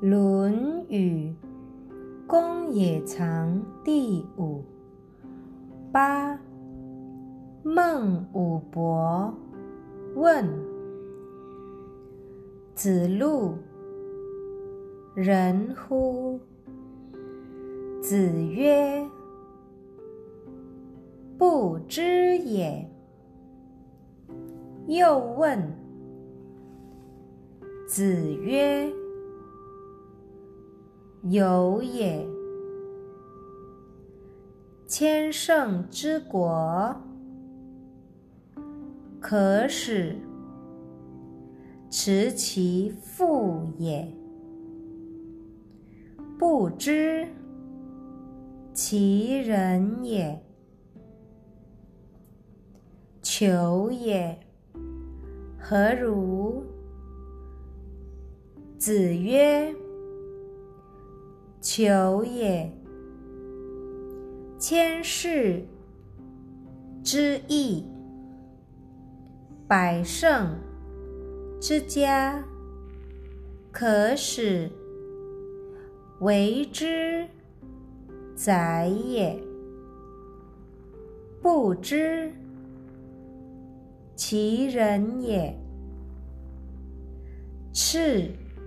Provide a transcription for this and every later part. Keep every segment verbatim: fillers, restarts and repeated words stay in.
《论语·公冶长》第五。八。孟武伯问子路：人乎？子曰：不知也。又问子曰：有也。千乘之国，可使持其父也，不知其人也。求也，何如？子曰：求也，千乘之邑，百乘之家，可使为之宰也，不知其人也。赤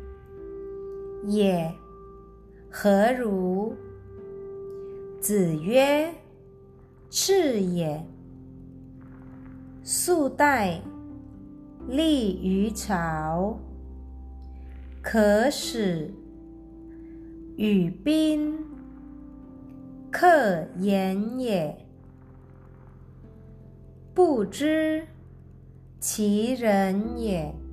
也，何如？子曰：赤也。素带立于朝，可使与宾客言也，不知其人也。